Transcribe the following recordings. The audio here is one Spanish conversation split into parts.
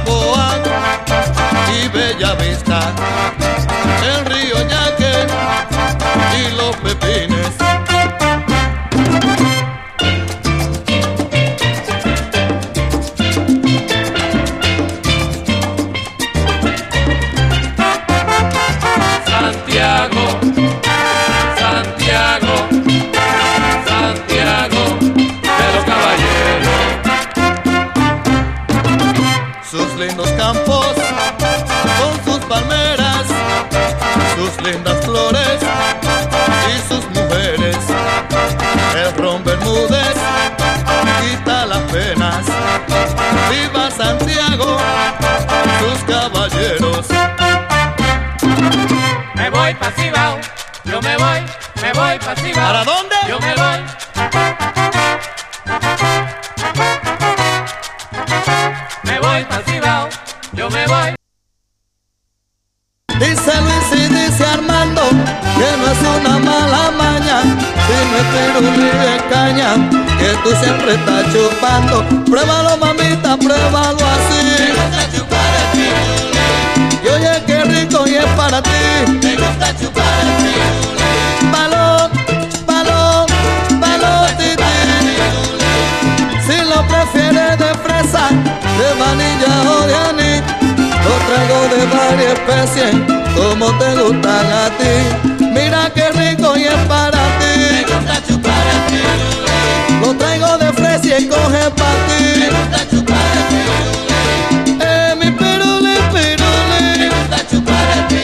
Balboa y Bella Vista, el río Yaque y los Pepines. Santiago, Santiago, Santiago de los caballeros. Sus lindos campos con sus palmeras, sus lindas flores y sus mujeres. El ron Bermúdez quita las penas. ¡Viva Santiago, sus caballeros! Me voy pa' Cibao, yo me voy pa' Cibao. ¿Para dónde? Yo me voy. Me voy pa' Cibao, yo me voy. Dice Luis y dice Armando que no es una mala maña, sino es pirulí de caña que tú siempre estás chupando. Pruébalo, mamita, pruébalo así. Me gusta chupar el pirulí. Y oye qué rico y es para ti. Me gusta chupar el pirulí. Balón, balón, balón, tití. Si lo prefieres de fresa, de vainilla o de anís, lo traigo de varias especies, como te gustan a ti. Mira qué rico y es para Me ti. gusta chupar el pirulí. Lo traigo de fresa y coge para Me ti. gusta chupar el pirulí. Mi pirulí, pirulí. Me gusta chupar el pirulí.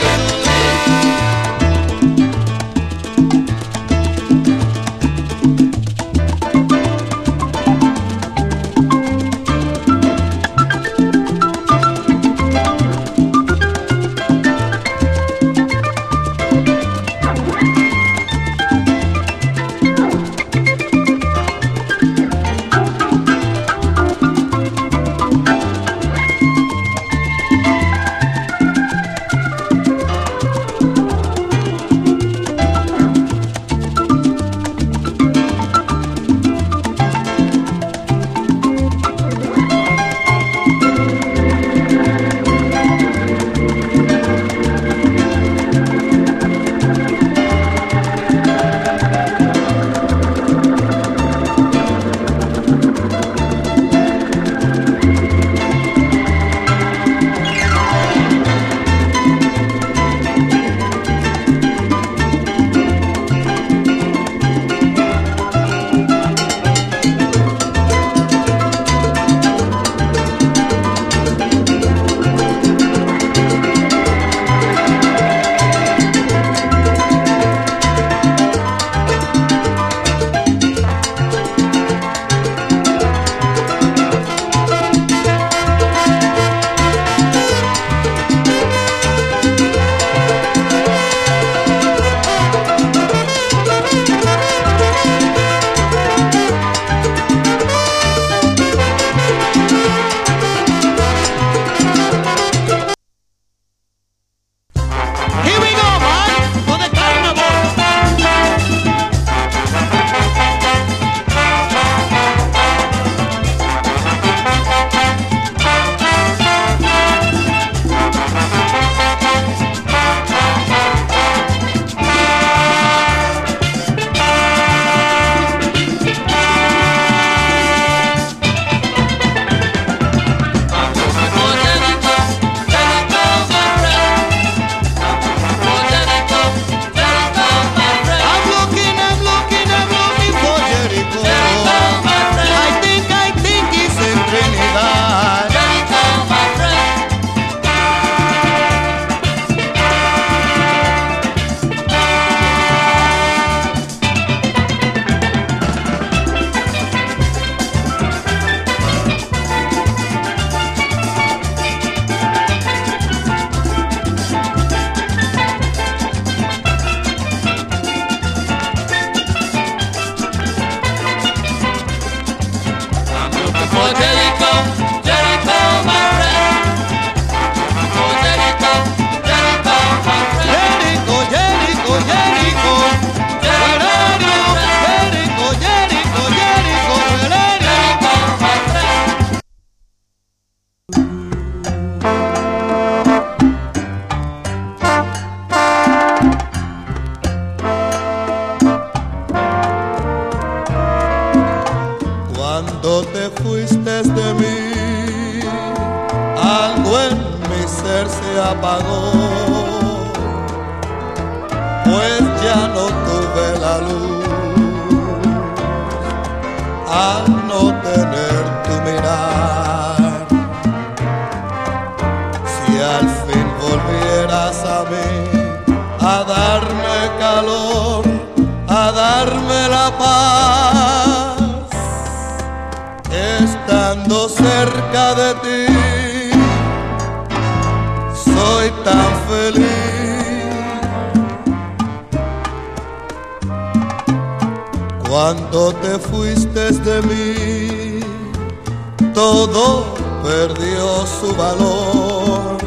Algo en mi ser se apagó, pues ya no tuve la luz al no tener tu mirar. Si al fin volvieras a mí, a darme calor, a darme la paz, estando cerca de ti, soy tan feliz. Cuando te fuiste de mí, todo perdió su valor.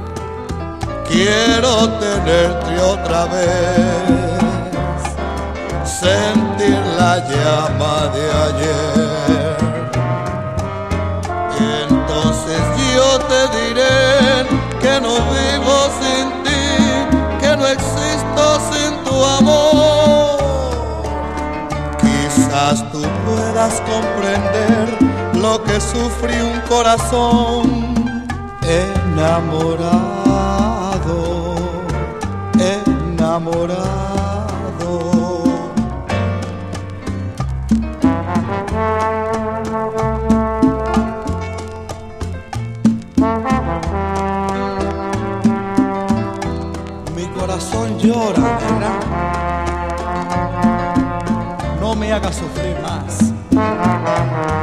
Quiero tenerte otra vez, sentir la llama de ayer. Entonces yo te diré que no vivo sin ti, que no existo sin tu amor. Quizás tú puedas comprender lo que sufre un corazón enamorado, enamorado. Mi corazón llora, nena. No me hagas sufrir más.